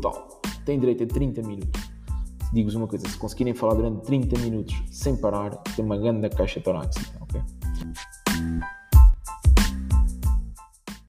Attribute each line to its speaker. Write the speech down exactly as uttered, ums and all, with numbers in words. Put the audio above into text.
Speaker 1: total. Têm direito a trinta minutos. Digo-vos uma coisa, se conseguirem falar durante trinta minutos sem parar, tem uma grande caixa torácica, ok?